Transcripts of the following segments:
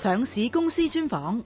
上市公司專訪。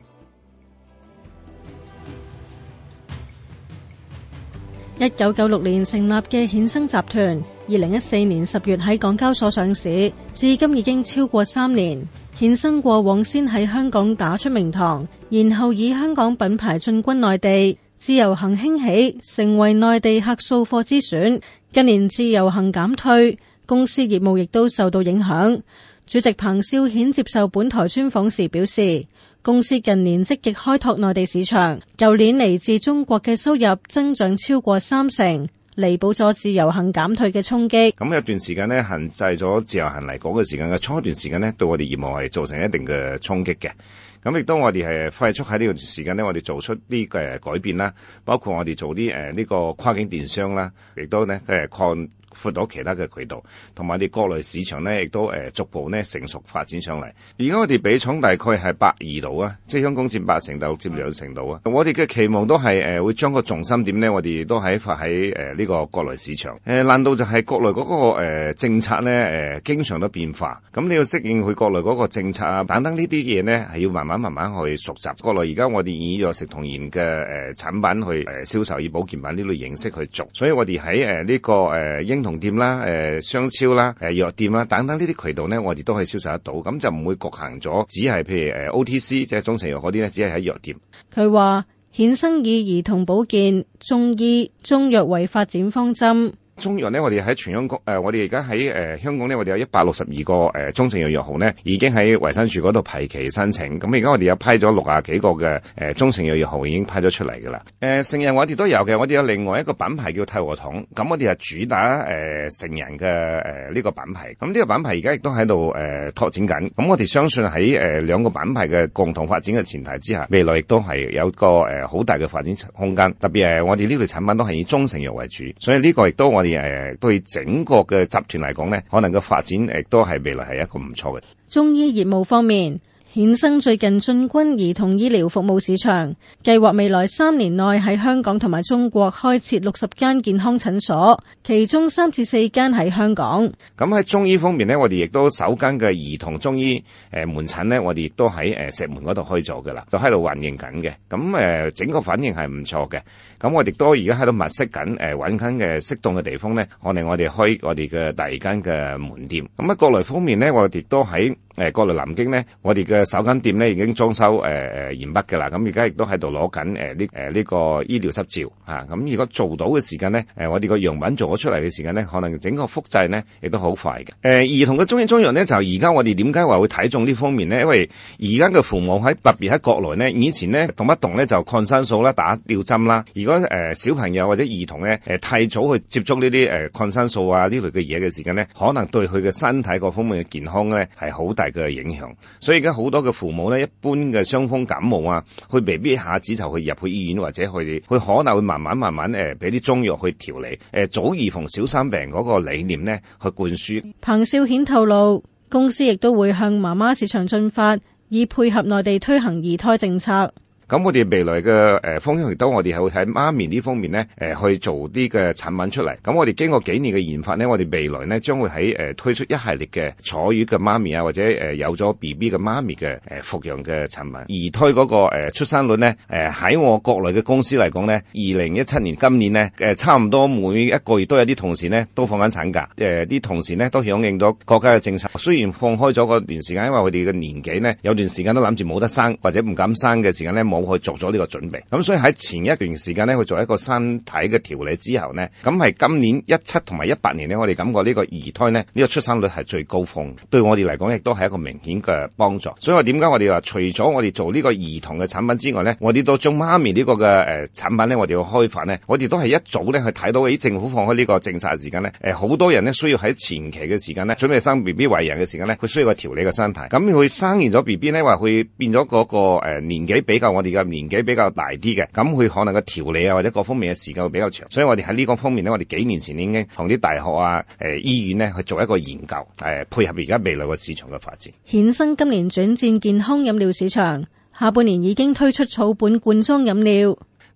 1996年成立嘅衍生集團，2014年10月喺港交所上市，至今已經超過3年。衍生過往先喺香港打出名堂，然後以香港品牌進軍內地，自由行興起，成為內地客掃貨之選。近年自由行減退，公司業務亦都受到影響。主席彭少顯接受本台專訪時表示，公司近年積極開拓內地市場，舊年嚟自中國嘅收入增長超過30%，彌補咗自由行減退嘅衝擊。 咁有段時間呢，限制咗自由行嚟港嘅時間嘅初段時間呢，對我哋業務係造成一定嘅衝擊嘅。咁亦都我哋係快速喺呢段時間呢，我哋做出啲改變啦，包括我哋做啲呢個跨境電商啦，亦都呢擴闊到其他嘅渠道，同埋我哋國內市場呢，亦都逐步呢成熟發展上嚟。而家我哋比重大概係82度啊，即係香港佔80%，大陸佔2%度啊。我哋嘅期望都係會將個重心點呢，我哋都發喺呢個國內市場。難道就係國內嗰個政策呢經常都變化，咁你要適應佢國內嗰個政策啊等等呢啲嘢呢，係要慢慢去熟習。國內而家我哋以藥食同源嘅產品去銷售，以保健品呢類形式去做，所以我哋喺呢個英同店啦、商超啦、藥店啦等等呢啲渠道呢，我哋都可以銷售得到，咁就唔會局限咗，只係譬如OTC 即係中成藥嗰啲呢，只係喺藥店。 佢話衍生以兒童保健、中醫、中藥為發展方針。 中藥呢，我哋喺全香港我哋而家喺香港呢，我哋有162個中成藥藥號呢，已經喺衛生署嗰度批期申請。咁而家我哋有批咗60幾個嘅中成藥藥號已經批咗出嚟㗎啦。成人我哋都有嘅，我哋有另外一個品牌叫泰和堂，咁我哋係主打成人嘅呢個品牌。咁呢個品牌而家亦都喺度拓展緊。咁我哋相信喺兩個品牌嘅共同發展嘅前提之下，未來亦都係有個好大嘅發展空間。特別係我哋呢類產品都係以中成藥為主，所以呢個亦都我哋對整個嘅集團嚟講呢，可能個發展亦都係未來係一個唔錯嘅。 中醫業務方面，衍生最近進軍兒童醫療服務市場，計劃未來3年內喺香港同埋中國開設60間健康診所，其中3至4間喺香港。 咁喺中醫方面呢，我哋亦都首間嘅兒童中醫門診呢，我哋亦都喺石門嗰度開咗㗎啦，都喺度運營緊嘅。咁整個反應係唔錯嘅。咁我哋都而家喺度物色緊揾緊嘅適當嘅地方呢，我哋開我哋嘅第2間嘅門店。咁喺國內方面呢，我哋都喺國內南京呢，我哋嘅首間店呢已經裝修完畢㗎啦。咁而家亦都喺度攞緊呢個醫療執照嚇。咁如果做到嘅時間呢，我哋個樣品做咗出嚟嘅時間呢，可能整個複製呢亦都好快嘅。兒童嘅中醫中藥呢，就而家我哋點解話會睇中呢方面呢？因為而家嘅父母特別喺國內呢，以前呢動不動呢就抗生素啦、打吊針啦。如果小朋友或者兒童呢太早去接觸呢啲抗生素啊呢類嘅嘢嘅時間呢，可能對佢嘅身體各方面嘅健康呢係好大嘅影響。所以而家好多嘅父母呢，一般嘅傷風感冒啊，佢未必一下子就去入去醫院，或者佢可能會慢慢俾啲中藥去調理，早預防小生病嗰個理念呢去灌輸。 彭少顯透露，公司亦都會向媽媽市場進發，以配合內地推行二胎政策。 咁我哋未來嘅方向亦都我哋係會喺媽咪呢方面呢去做啲嘅產品出嚟。咁我哋經過幾年嘅研發呢，我哋未來呢將會喺推出一系列嘅坐月嘅媽咪啊，或者有咗 BB 嘅媽咪嘅服用嘅產品。二胎嗰個出生率呢，喺我國內嘅公司嚟講呢，2017年今年呢差唔多每一個月都有啲同事呢都放緊產假。啲同事呢都響應咗國家嘅政策。雖然放開咗嗰段時間，因為佢哋嘅年紀呢有段時間都諗住冇得生或者唔敢生嘅時間呢，冇去做咗呢個準備。咁所以喺前一段時間呢，去做一個身體嘅調理之後呢，咁係今年17同埋18年呢，我哋感覺呢個二胎呢，呢個出生率係最高峰，對我哋嚟講亦都係一個明顯嘅幫助。所以我點解我哋話除咗我哋做呢個兒童嘅產品之外呢，我哋都將媽咪呢個嘅產品呢，我哋要開發呢，我哋都係一早呢去睇到政府放開呢個政策嘅時間呢，好多人呢需要喺前期嘅時間呢，準備生 BB 為人嘅時間呢，佢需要個調理嘅身體。咁佢生完咗 BB 呢，話佢變咗嗰個年紀比較我哋嘅年紀比較大啲嘅，咁佢可能個調理啊或者各方面嘅時間會比較長，所以我哋喺呢個方面呢，我哋幾年前已經同啲大學啊、醫院呢去做一個研究，配合而家未來個市場嘅發展。 衍生今年轉戰健康飲料市場，下半年已經推出草本罐裝飲料。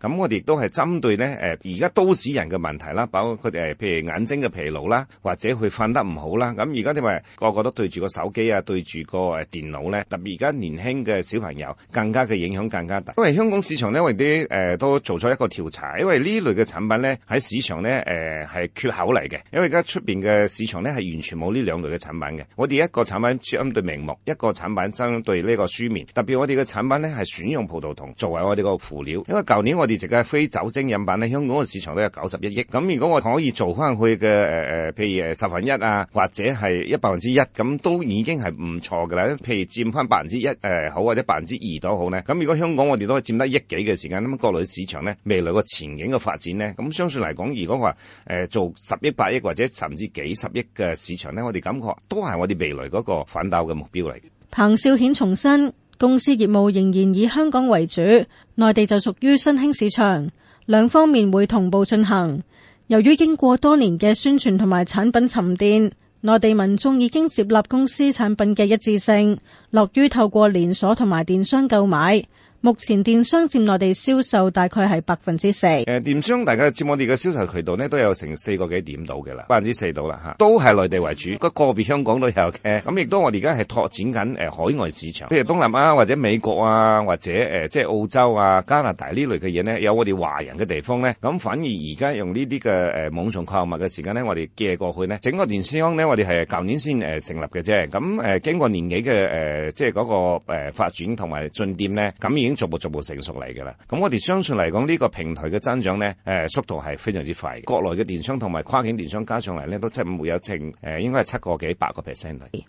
咁我哋亦都係針對咧而家都市人嘅問題啦，包括譬如眼睛嘅疲勞啦，或者佢瞓得唔好啦。咁而家因為個個都對住個手機啊，對住個電腦咧，特別而家年輕嘅小朋友更加嘅影響更加大。因為香港市場咧，我哋都做咗一個調查，因為呢類嘅產品咧喺市場咧係缺口嚟嘅，因為而家出邊嘅市場咧係完全冇呢兩類嘅產品嘅。我哋一個產品針對明目，一個產品針對呢個書面。特別我哋嘅產品咧係選用葡萄糖作為我哋個輔料，因為舊年我哋食嘅非酒精飲品咧，香港嘅市場都有91億。咁如果我可以做翻佢嘅譬如1/10啊，或者係1%，咁都已經係唔錯㗎啦。譬如佔翻1%好，或者2%都好咧。咁如果香港我哋都可以佔得億幾嘅時間，咁國內市場咧未來個前景嘅發展咧，咁相信嚟講，如果話做10億、8億或者甚至幾十億嘅市場咧，我哋感覺都係我哋未來嗰個奮鬥嘅目標嚟。 彭少顯重申，公司業務仍然以香港為主，內地就屬於新興市場，兩方面會同步進行。由於經過多年嘅宣傳同埋產品沉澱，內地民眾已經接納公司產品嘅一致性，樂於透過連鎖同埋電商購買。目前電商佔內地銷售大概係4%。 電商大家佔我哋嘅銷售渠道呢都有成4個幾點到嘅啦，4%到啦嚇，都係內地為主，個別香港都有嘅。咁亦都我哋而家係拓展緊海外市場，譬如東南亞或者美國啊，或者即係澳洲啊、加拿大呢類嘅嘢呢，有我哋華人嘅地方呢。咁反而而家用呢啲嘅網上購物嘅時間呢，我哋寄過去呢，整個電商呢，我哋係舊年先成立嘅啫。咁經過年幾嘅即係嗰個發展同埋進店呢，咁已經逐步成熟嚟㗎啦。咁我哋相信嚟講呢個平台嘅增長呢，速度係非常之快。國內嘅電商同埋跨境電商加上嚟呢，都真係會有應該係7個幾8%嚟。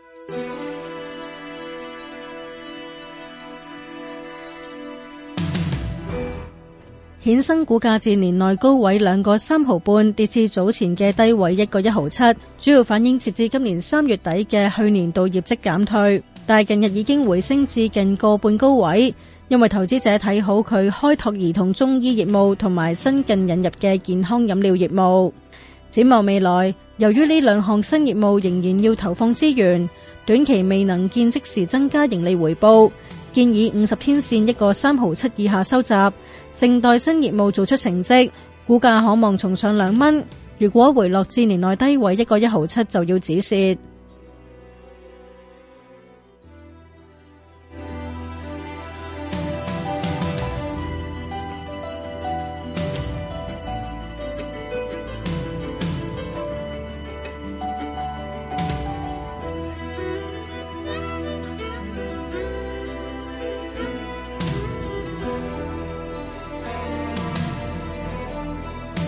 衍生股價自年內高位2個3毫半跌至早前嘅低位1個1毫7，主要反映截至今年3月底嘅去年度業績減退，但近日已經回升至近個半高位，因為投資者睇好佢開拓兒童中醫業務同埋新近引入嘅健康飲料業務。展望未來，由於呢兩項新業務仍然要投放資源，短期未能見即時增加盈利回報，建議50天線1個3毫7以下收集，靜待新業務做出成績，股價可望重上2蚊。如果回落至年內低位1個1毫7就要止蝕。